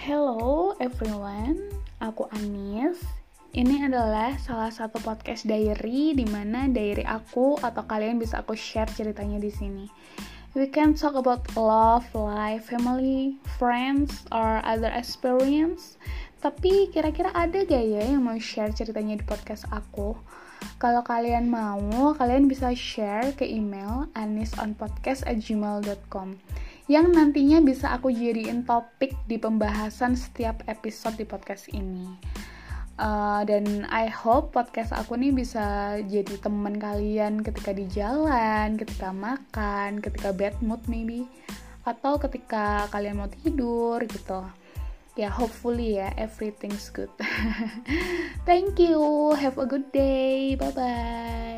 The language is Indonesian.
Hello everyone, aku Anis. Ini adalah salah satu podcast diary di mana diary aku atau kalian bisa aku share ceritanya di sini. We can talk about love, life, family, friends, or other experience. Tapi kira-kira ada gak ya yang mau share ceritanya di podcast aku? Kalau kalian mau, kalian bisa share ke email anisonpodcast@gmail.com yang nantinya bisa aku jadiin topik di pembahasan setiap episode di podcast ini. Dan I hope podcast aku nih bisa jadi teman kalian ketika di jalan, ketika makan, ketika bad mood maybe, atau ketika kalian mau tidur gitu. Ya, hopefully ya, everything's good. Thank you, have a good day, bye-bye.